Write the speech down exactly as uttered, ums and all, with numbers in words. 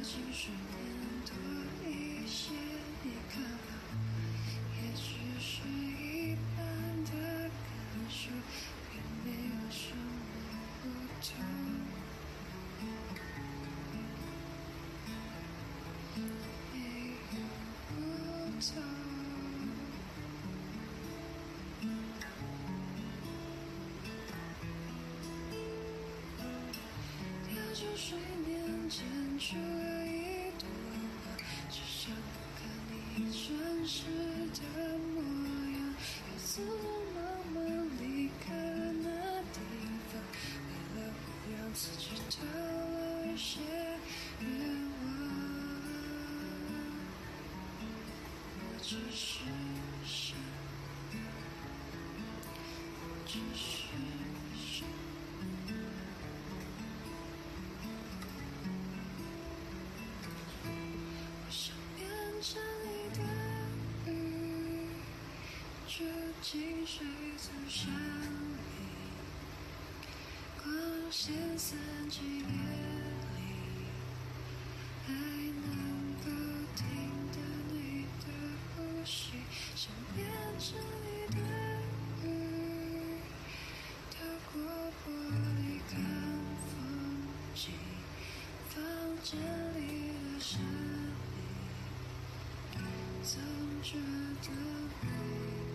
情绪变多一些，你看好，也只是一般的感受，并没有什么不同。没有不同。调酒水面溅出了一朵花，只想看你真实的模样。又匆匆忙忙离开了那地方，为了不让自己透露一些愿望。我只是想，我只是想。我想变成你的鱼，住进水族箱里，光线散尽夜里，还能够听到你的呼吸。想变成你的鱼，透过玻璃看风景，房间里的声音总觉得美。